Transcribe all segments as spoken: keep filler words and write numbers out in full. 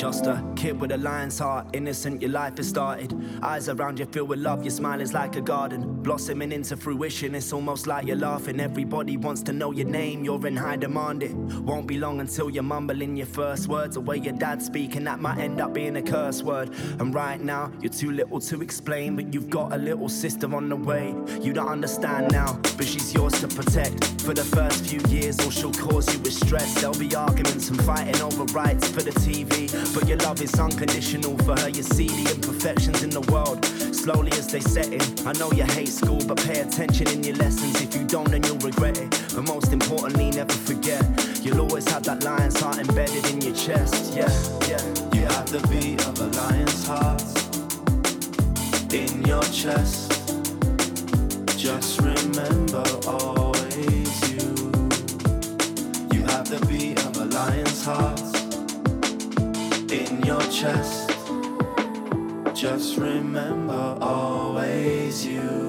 Just a kid with a lion's heart, innocent, your life has started. Eyes around you filled with love, your smile is like a garden, blossoming into fruition, it's almost like you're laughing. Everybody wants to know your name, you're in high demand. It won't be long until you're mumbling your first words, the way your dad's speaking, that might end up being a curse word. And right now, you're too little to explain, but you've got a little sister on the way. You don't understand now, but she's yours to protect. For the first few years, all she'll cause you is stress. There'll be arguments and fighting over rights for the T V, but your love is unconditional for her. You see the imperfections in the world slowly as they set in. I know you hate school, but pay attention in your lessons. If you don't, then you'll regret it. But most importantly, never forget, you'll always have that lion's heart embedded in your chest. Yeah, yeah. You have the beat of a lion's heart in your chest. Just remember, always you. You have the beat of a lion's heart in your chest. Just remember, always you.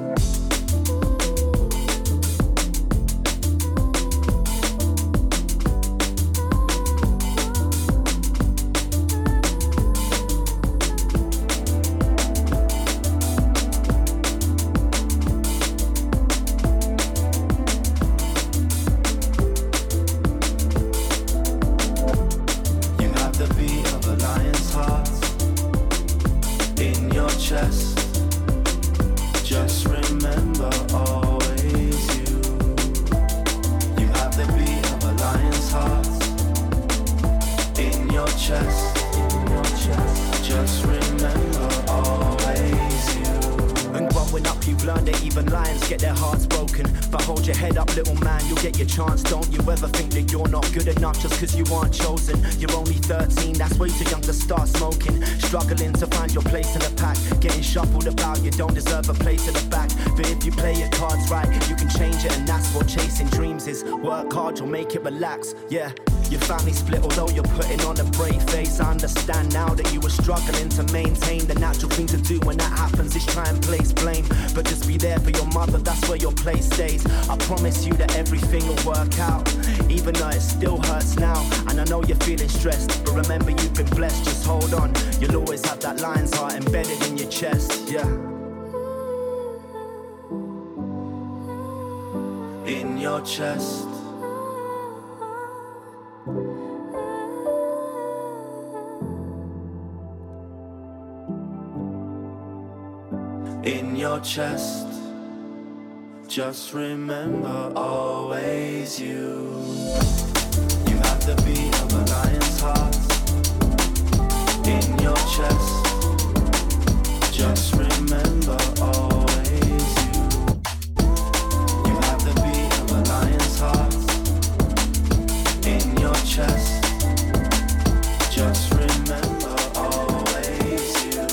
Struggling to find your place in the pack, getting shuffled about, you don't deserve a place in the back. But if you play your cards right, you can change it, and that's what chasing dreams is. Work hard, you'll make it relax, yeah. Your family split, although you're putting on a brave face. I understand now that you were struggling to maintain. The natural thing to do when that happens is try and place blame, but just be there for your mother, that's where your place stays. I promise you that everything will work out, even though it still hurts now. And I know you're feeling stressed, but remember you've been blessed, just hold on. You'll always have that lion's heart embedded in your chest, yeah. In your chest. In your chest. Just remember, always you. You have the beat of a lion's heart in your chest. Just remember, always you. You have the beat of a lion's heart in your chest. Just remember, always you.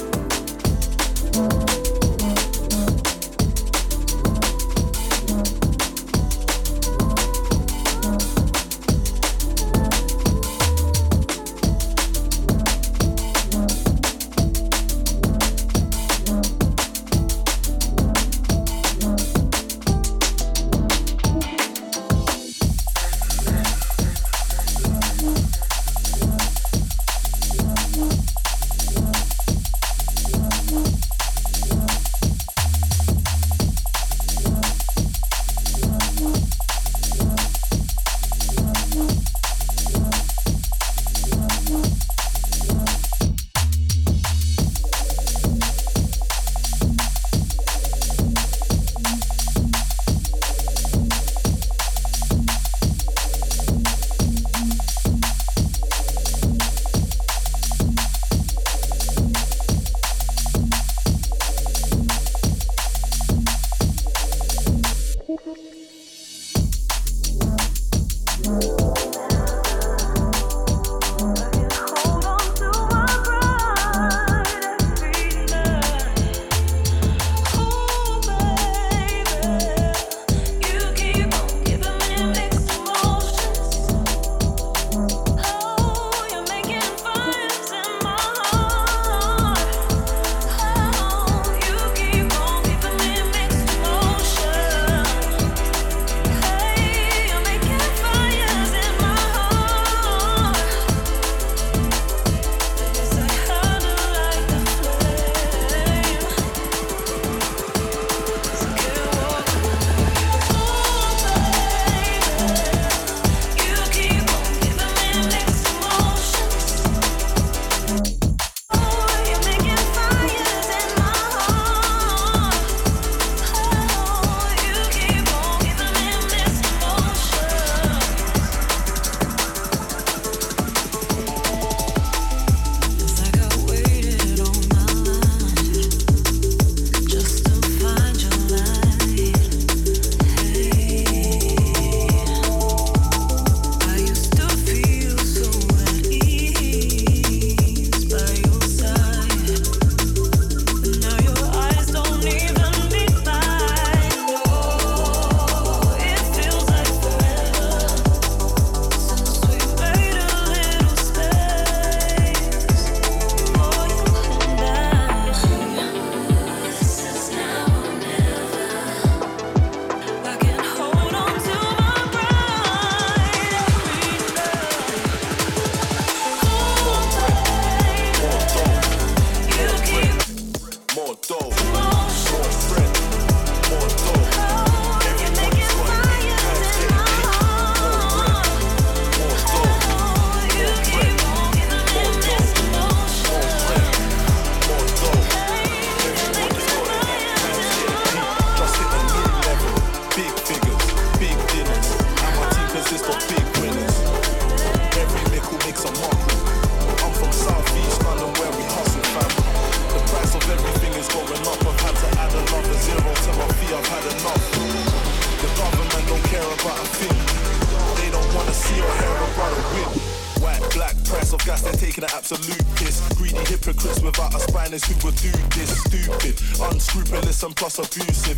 of gas, they're taking an absolute piss. Greedy hypocrites without a spine is who would do this. Stupid, unscrupulous and plus abusive.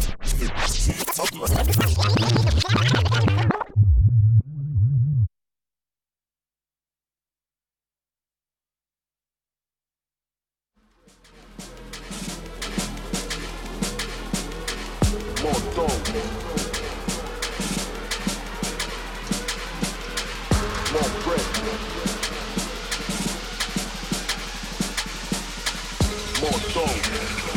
More dope. More bread. More dough.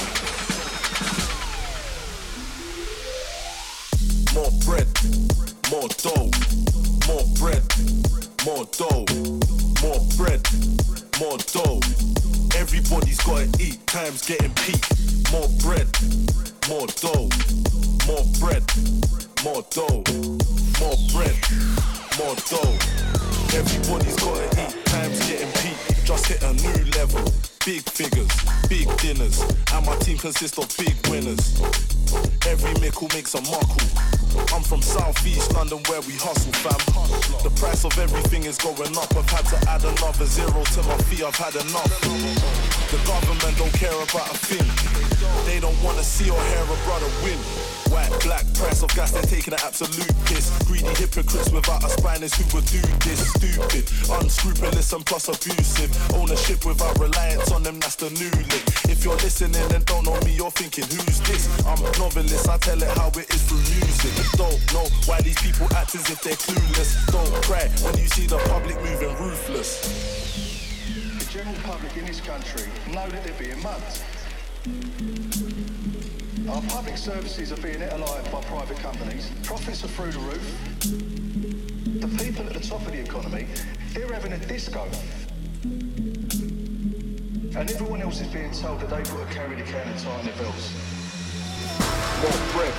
More bread. More dough. More bread. More dough. More bread. More dough. Everybody's gotta eat. Time's getting peak. More bread. More dough. More bread. More dough. More bread. More dough. Everybody's gotta eat. Time's getting peak. Just hit a new level. Big figures, big dinners, and my team consists of big winners. Every mickle makes a muckle. I'm from South East London where we hustle, fam. The price of everything is going up. I've had to add another zero to my fee, I've had enough. The government don't care about a thing. They don't wanna see or hear a brother win. White, black, price of gas, they're taking an absolute piss. Greedy hypocrites without a spine is who would do this. Stupid, unscrupulous and plus abusive. Ownership without reliance on them, that's the new lick. If you're listening and don't know me, you're thinking, who's this? I'm a novelist, I tell it how it is through music. Don't know why these people act as if they're clueless. Don't cry when you see the public moving ruthless. The general public in this country know that they're being mugged. Our public services are being eaten alive by private companies. Profits are through the roof. The people at the top of the economy, they're having a disco. And everyone else is being told that they've got to carry the can and tighten their belts. More bread.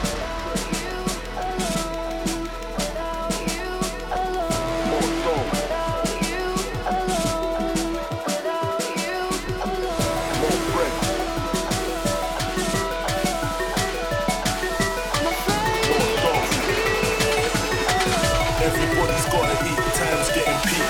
Everybody's gotta eat, time's getting peak.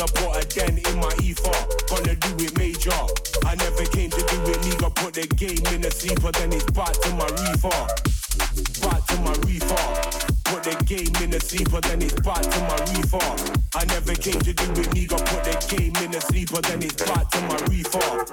gonna put a dent in my ether. Gonna do it major. I never came to do it legal. Put the game in a sleeper, then it's back to my reefer. Back to my reefer. Put the game in a sleeper, then it's back to my reefer. I never came to do it legal. Put the game in a sleeper, then it's back to my reefer.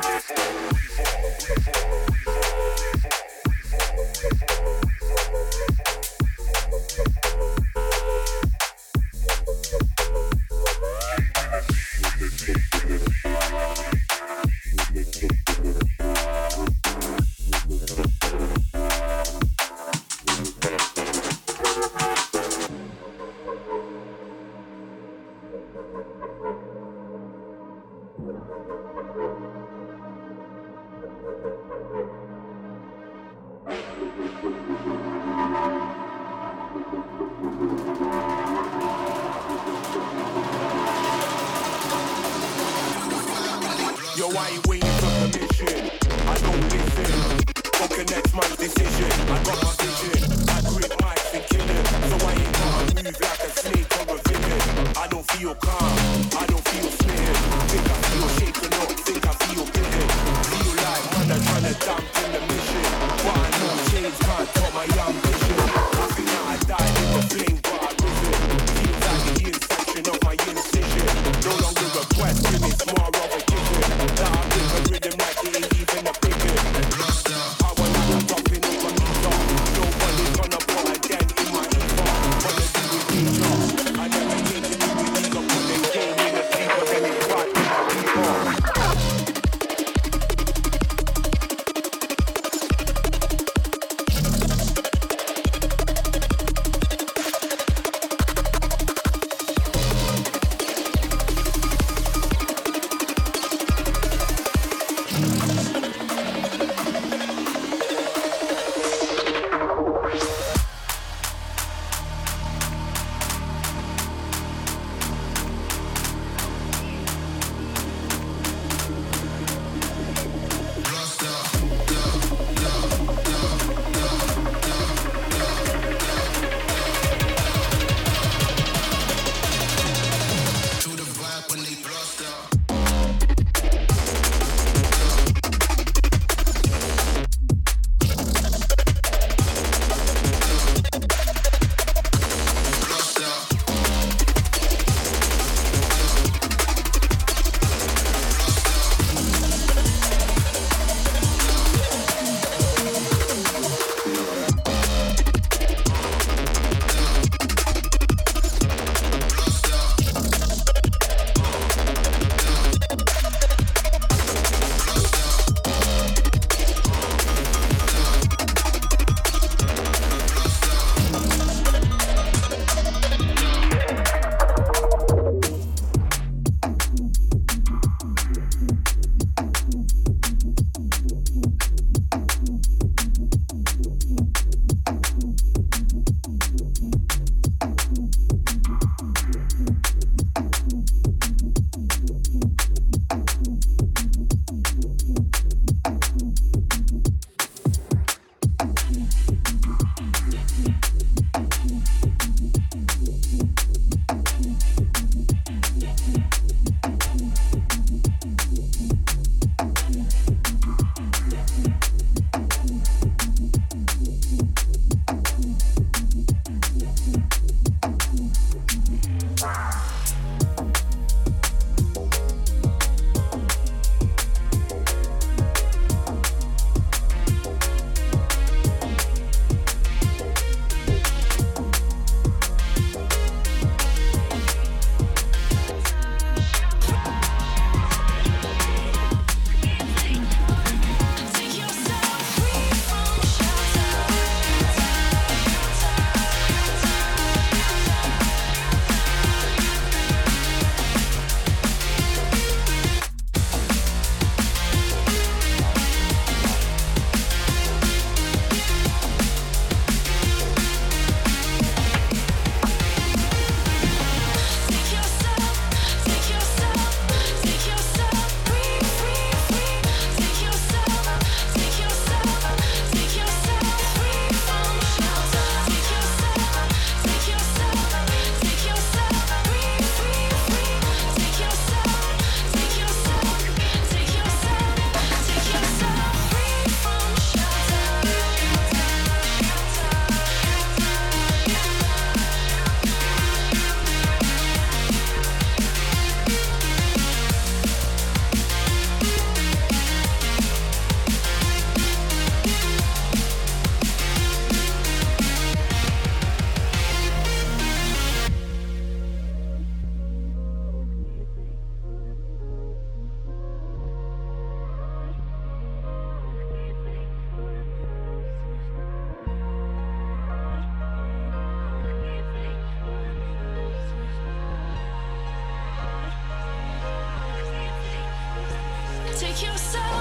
Yo, I ain't waiting for permission. I don't listen. Fuck the next man's decision. I got my vision. I grip mics and kill it. So I ain't gonna move like a snake or a villain. I don't feel calm. I don't feel smitten. Think I feel shaken up. Think I feel bitten. Feel like man are trying to dampen the mission. But I know change can't top my ambition. I think that I died in the flame, but I risen. Feels like the inception of my incision. No longer a question, it's more of a given. That I think a rhythm like it ain't even a picket. I want to be dropping over ether. Nobody's gonna put a dent in my ether. Wanna do it teacher. I never came to do it legal. Put the game in the sleeper, then it's back to my reefer.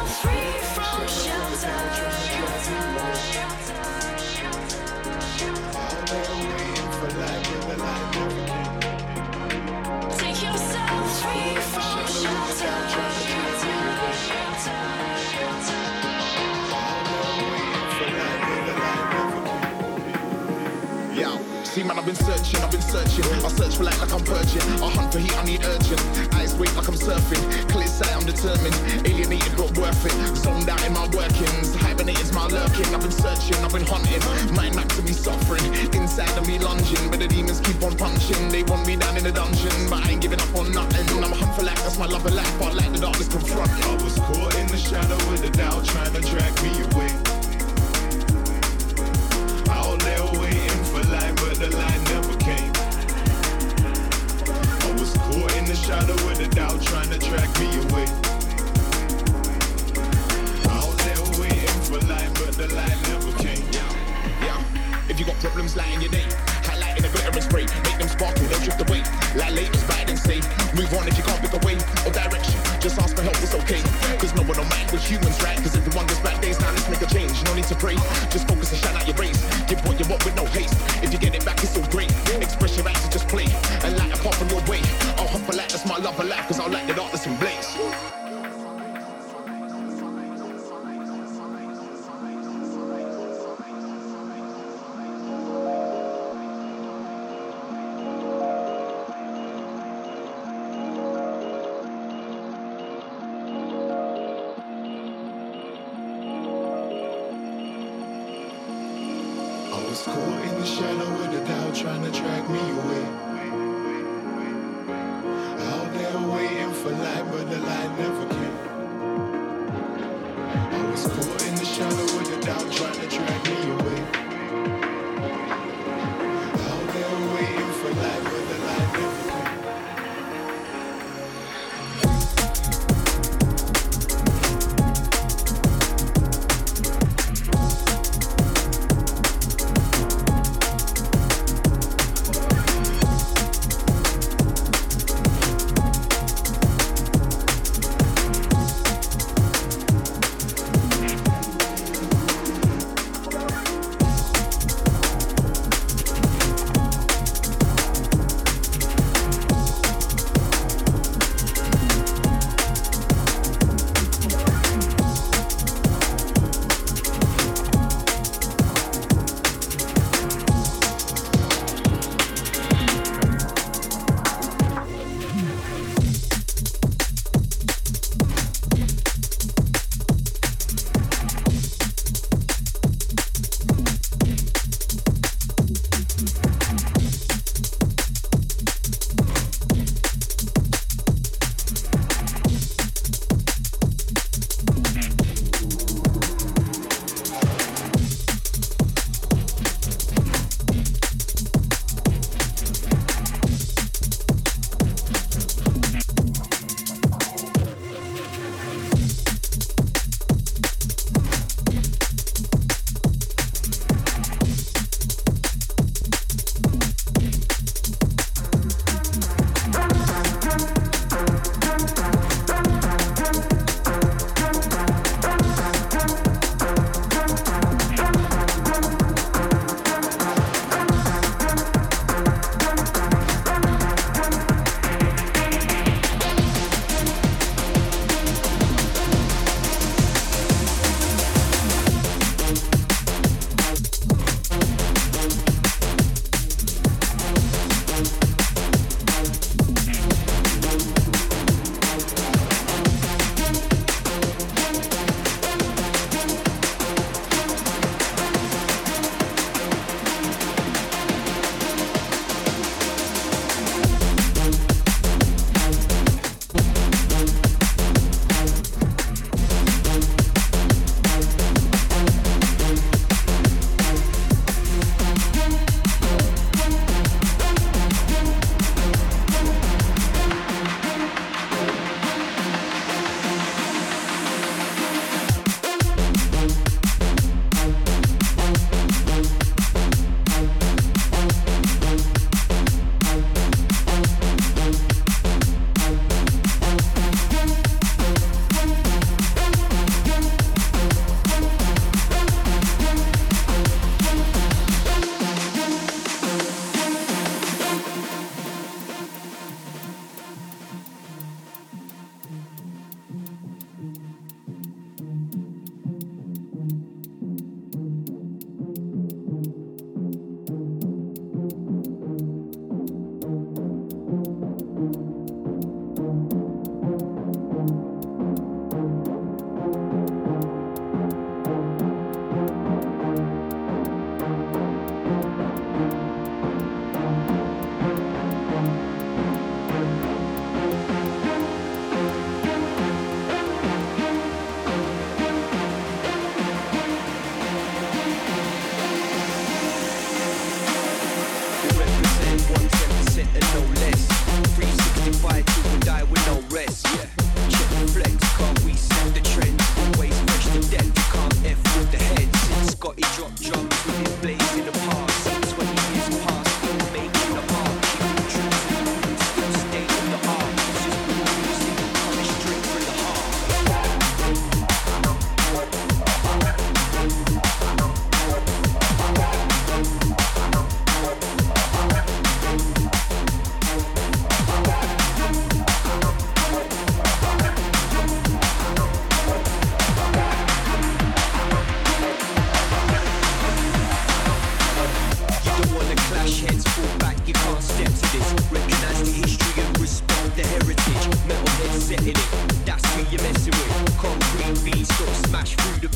See man, I've been searching, I've been searching. I search for light like I'm purging. I hunt for heat, I need urgent. Eyes wait like I'm surfing. Clear sight, I'm determined. Alienated but worth it. Zoned out in my workings. Hibernated's my lurking. I've been searching, I've been hunting. Mind map to me suffering. Inside of me lunging. But the demons keep on punching. They want me down in the dungeon. But I ain't giving up on nothing. I'm a hunt for light, that's my love of life. But like the darkness confront. I was caught in the shadow with the doubt trying to drag me away. Out there waiting for light, but the light never came. I was caught in the shadow with the doubt trying to drag me away. Out there waiting for light, but the light never came. Yeah, yeah. If you got problems lighting your day, highlighting a glitter and spray, make them sparkle, they'll drift away. Like latest bite and say, move on if you can't pick a way or direction. Just ask for help, it's okay. Cause no one don't mind with humans, right? Cause everyone gets bad days, now let's make a change. No need to pray, just focus and shine out your race. Give what you want with no haste. If you get it back, it's all great. Express your right to just play and light a path on your way. I'll hunt for light, that's my love of life. Cause I'll light the darkness and blaze. Caught in the shadow with the doubt trying to drag me away. Out there waiting for light, but the light never came. I was caught in the shadow with the doubt trying to drag me away. Out there waiting for light, but the light never came.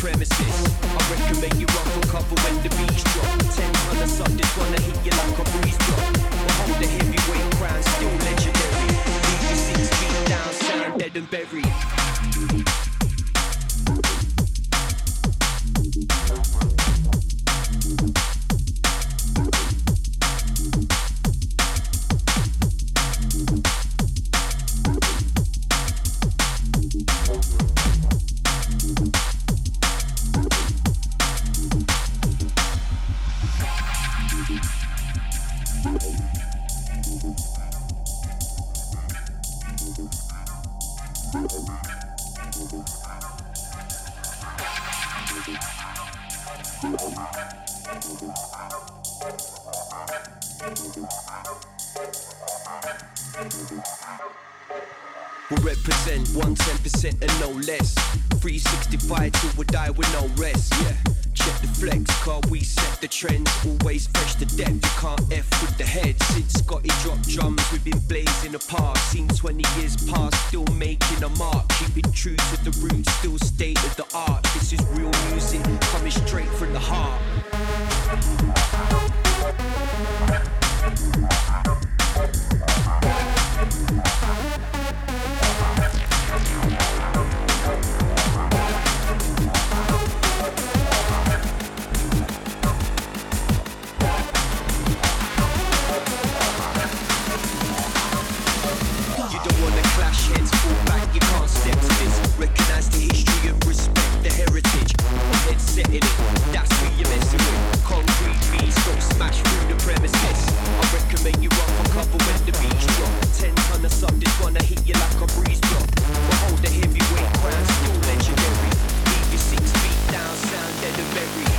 premises. I recommend you run for cover when the beats drop. Ten ton of suck, just wanna hit you like a breeze drop. But hold the heavyweight crown, still legendary. Leave you six feet down, sound dead and buried. We'll represent one ten percent and no less. three sixty-five till we die with no rest. Yeah, check the flex, car we set the trends. Always fresh to death, you can't F with the head. Since Scotty dropped drums, we've been blazing apart. Seen twenty years past, still making a mark. Keeping true to the roots, still state of the art. This is real music, coming straight from the heart. Recognize the history and respect the heritage. Head set in it, that's who you're messing with. Concrete beats don't smash through the premises. I recommend you run for cover when the beats drop. Ten ton of something gonna hit you like a breeze drop. But hold the heavyweight crown, still legendary. Leave you six feet down, sound dead and buried.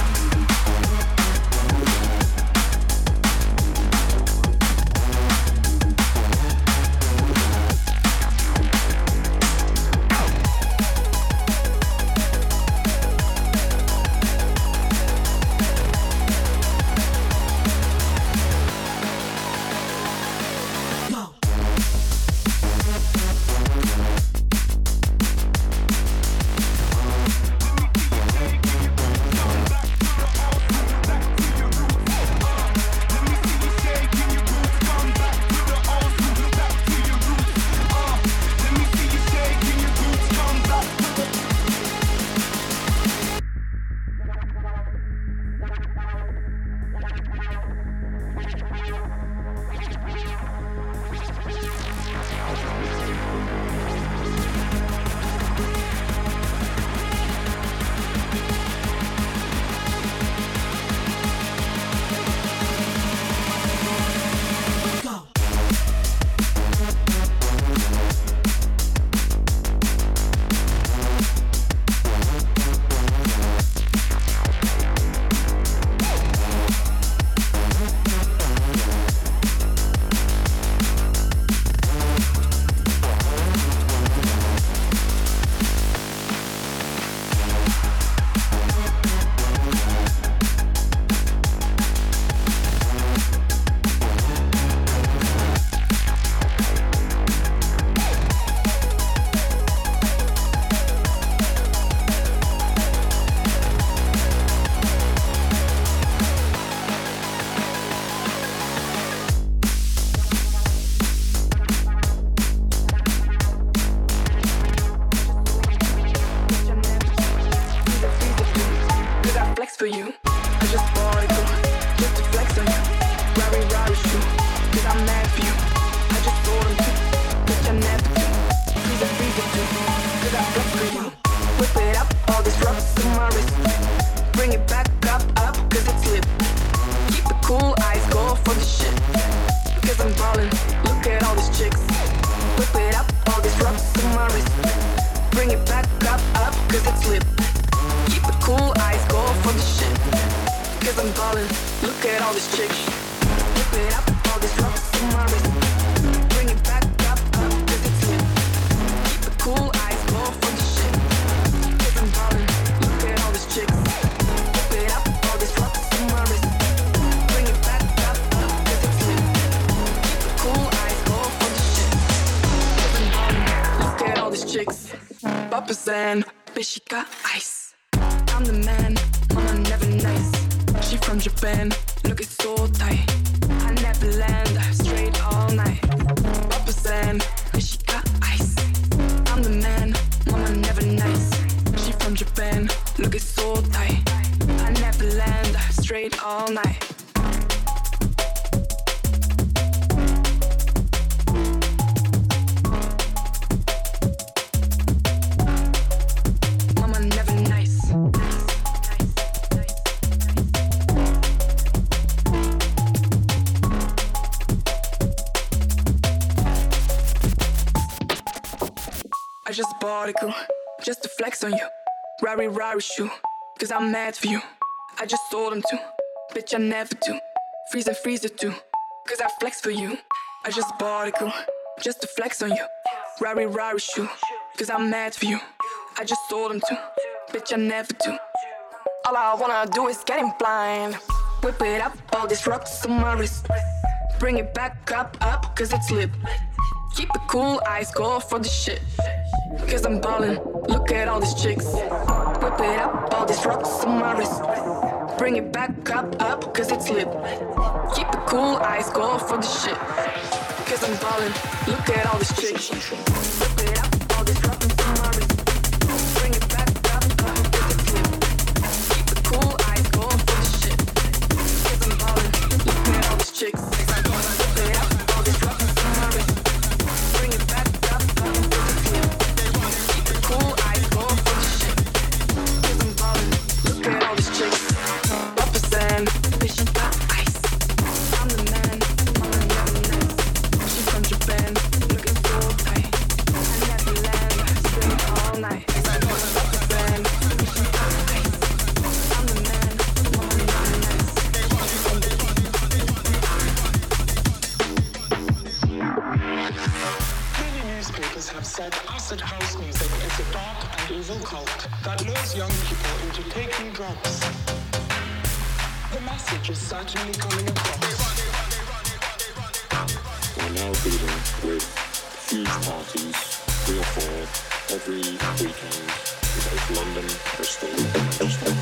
For you, I just bought it, just to flex on you. Rari Rari shoe, cause I'm mad for you. I just bought them too, bitch I'm never too. Freeze it, freeze it too, cause I flex for you. Whip it up, all this rocks on my wrist. Bring it back up, up, cause it's lit. Keep the cool eyes, go for the shit. Cause I'm ballin', look at all these chicks. Whip it up, all this rocks on my wrist. Bring it back up, up, cause it's lit. Keep the cool eyes, go for the shit. Cause I'm ballin', look at all these chicks. Whip it up, all this rocks on my wrist. Bring it back up, up, cause it's lit. Keep the cool eyes, go for the shit. Cause I'm ballin', look at all these chicks. Whip it up, all this rocks on my wrist. Bring it back up, up, cause it's lit. Keep the cool eyes, go for the shit. Cause I'm ballin', look at all these chicks. Papas and Bishika ice. I'm the man, mama never nice. She from Japan, looking so tight. I never land, straight all night. Rubber sand, cause she got ice. I'm the man, mama never nice. She from Japan, looking so tight. I never land, straight all night. Mama never nice. I just bought a girl, just to flex on you. Rari Rari shoe, cause I'm mad for you. I just sold them too, bitch I never do. Freeze and freezer too, cause I flex for you. I just bought a girl, just to flex on you. Rari Rari shoe, cause I'm mad for you. I just sold them too, bitch I never do. All I wanna do is get him blind. Whip it up, all these rocks on my wrist. Bring it back up, up, cause it's lit. Keep it cool, eyes go for the shit. Cause I'm ballin', look at all these chicks. Whip it up, all these rocks on my wrist. Bring it back up, up, cause it's lit. Keep it cool, eyes go for the shit. Cause I'm ballin', look at all these chicks. Whip it up, all these rocks on my wrist. Bring it back up, up, cause it's lit. Keep it cool, eyes go for the shit. Cause I'm ballin', look at all these chicks. Whip it up, all these rocks on my wrist. Bring it back up, up, cause it's lit. Keep it cool, eyes go for the shit. Cause I'm ballin', look at all these chicks. Rubber sand, bitch she got ice. I'm the man, mama never nice. She from Japan, looking so tight. I never land, straight all night. Rubber sand, bitch she got ice. I'm the man, mama never nice. She from Japan. Many newspapers have said acid house music is a dark and evil cult that lures young people into taking drugs. The message is certainly coming across. We're now dealing with huge parties, three or four, every weekend in both London, Bristol, and Manchester.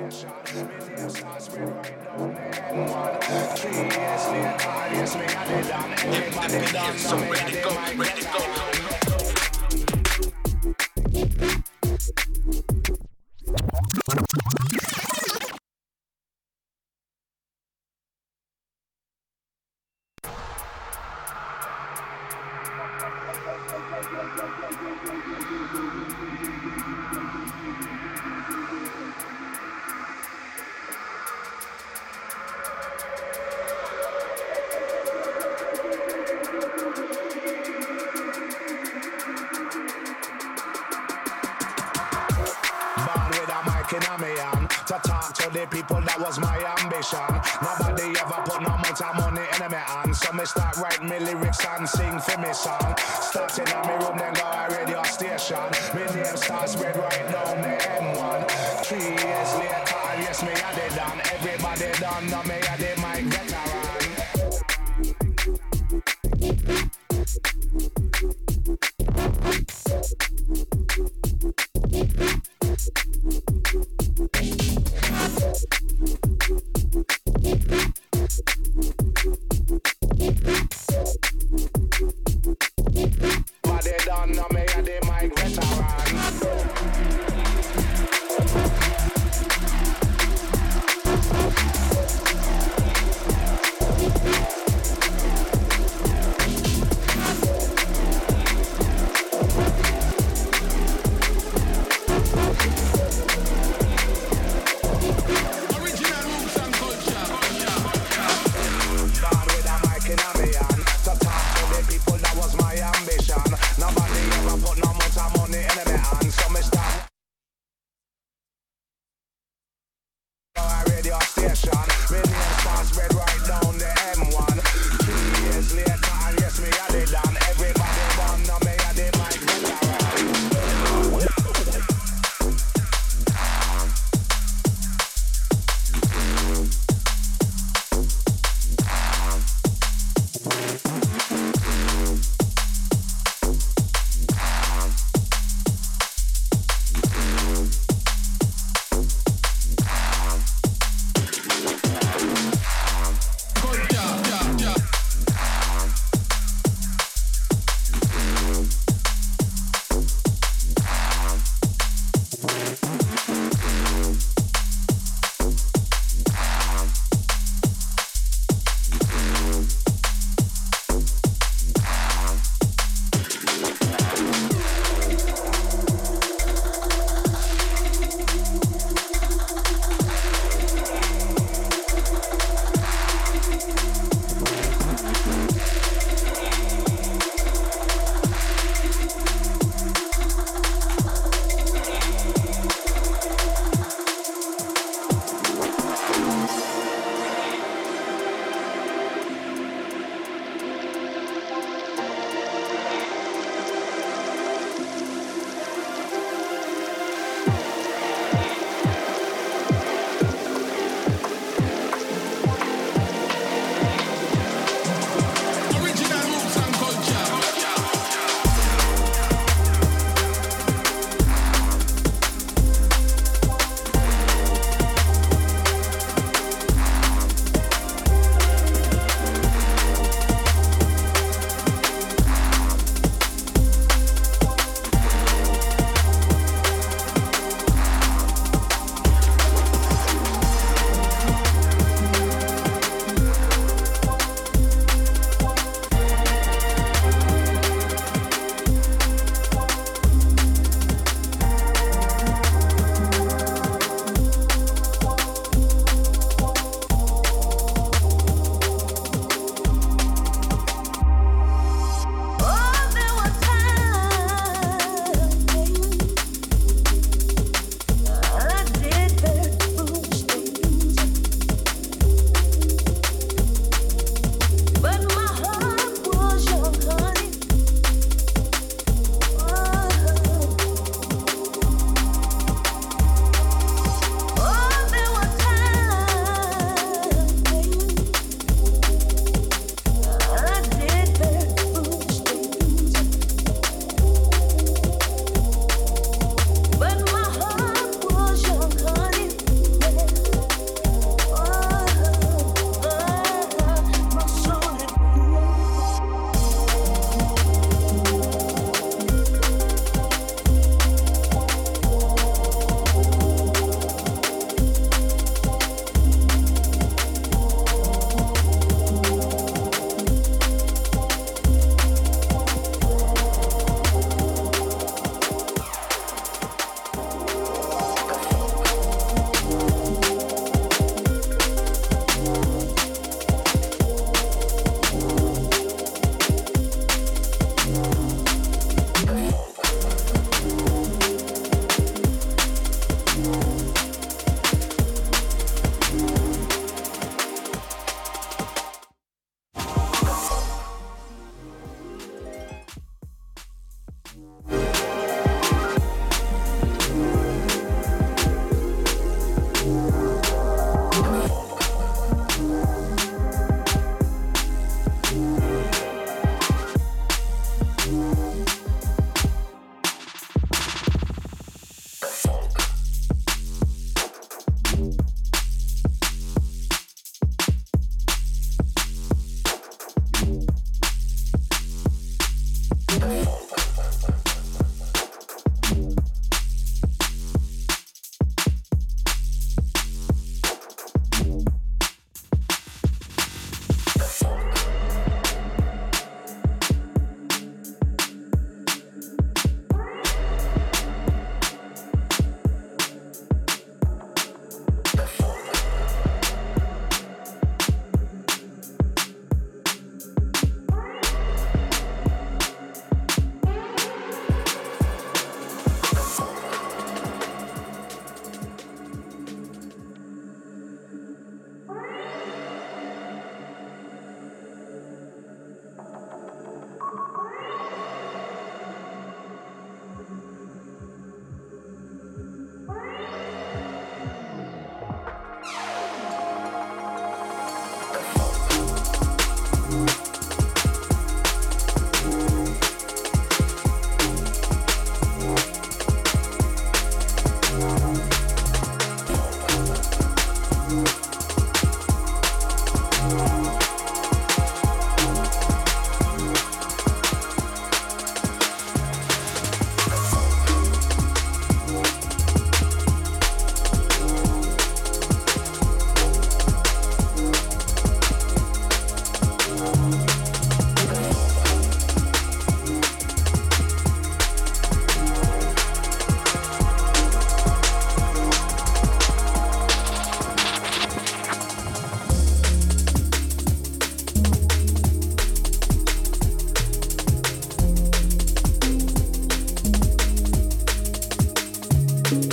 The people, that was my ambition. Nobody ever put no amount of money in my hand. So me start writing me lyrics and sing for me song. Starting in my room, then go a radio station. My name starts spread right now, me M one. Three years later, and yes, me had it done. Everybody done, now me had it, my veteran.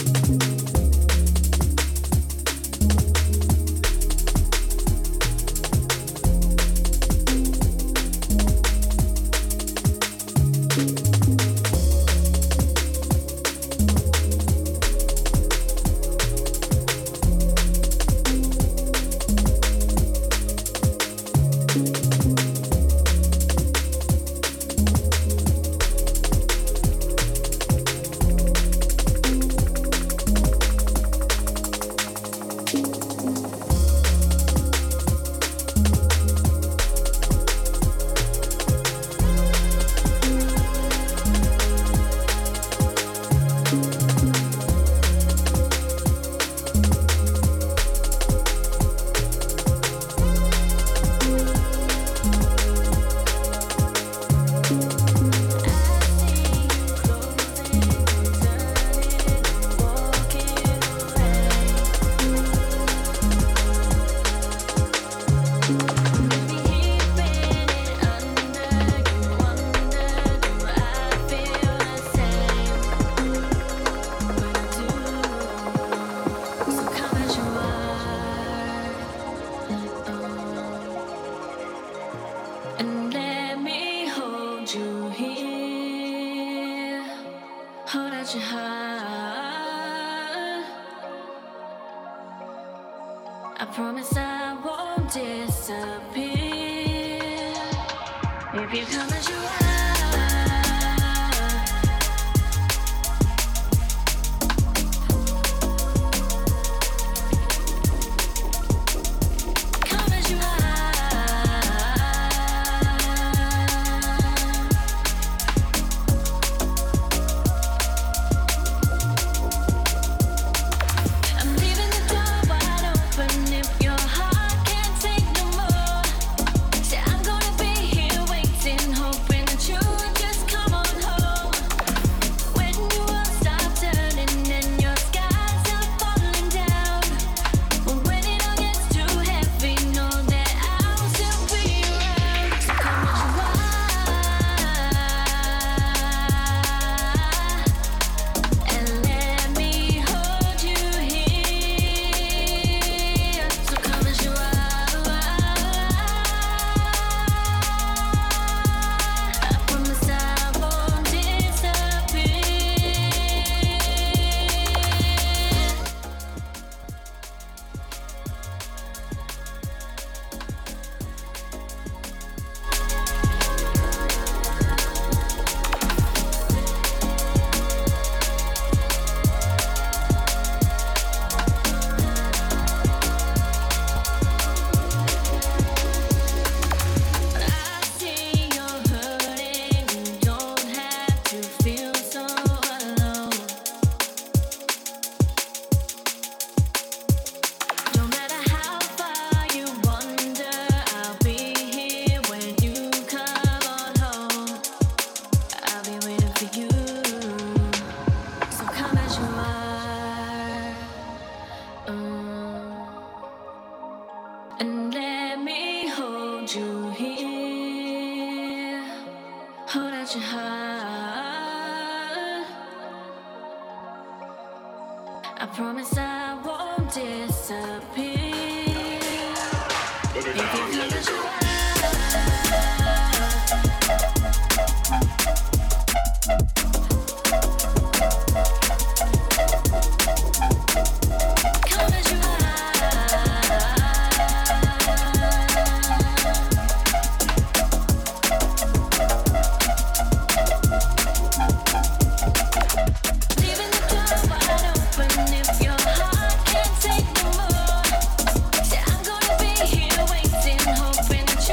Hoping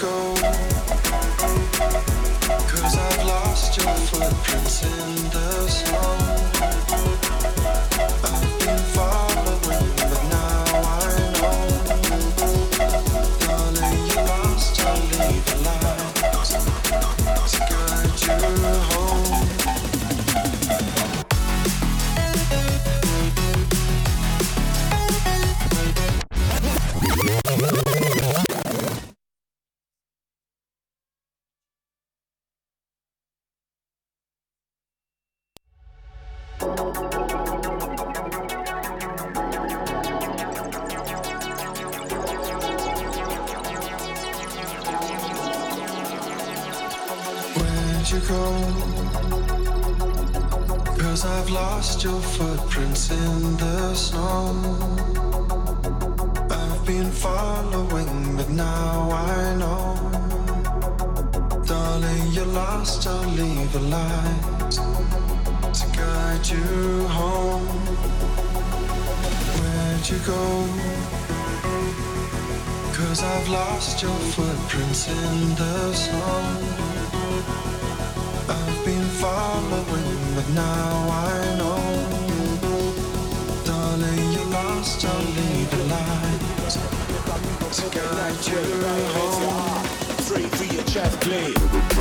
go? 'Cause I've lost your footprints in the snow. I've been following, but now I know. Darling, you lost, I'll leave a light to guide you home. Where'd you go? 'Cause I've lost your footprints in the snow. I've been following, but now I know. Darling, you're lost, I'll leave a light to guide you home. Where'd you go? 'Cause I've lost your footprints in the snow. I've been following, but now I know. Darling, you're lost, I'll leave a light to guide you home. Three for your chest, please.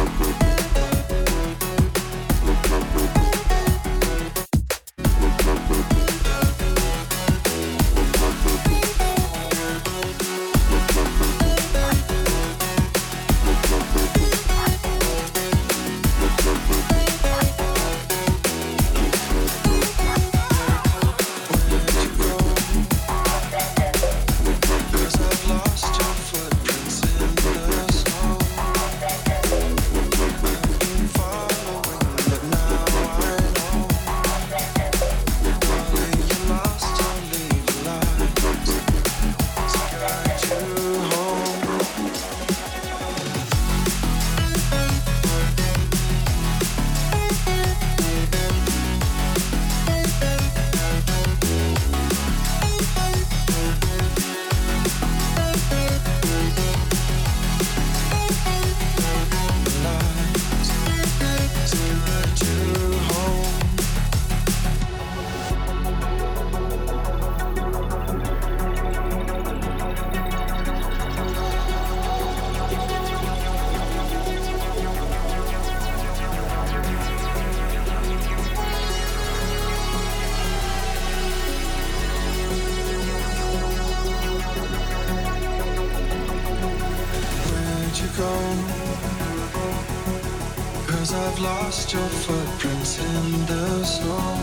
I've lost your footprints in the snow.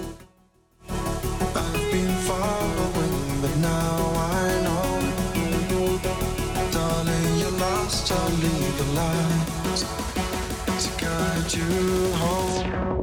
I've been following, but now I know. Darling, you're lost, I'll leave a light to guide you home.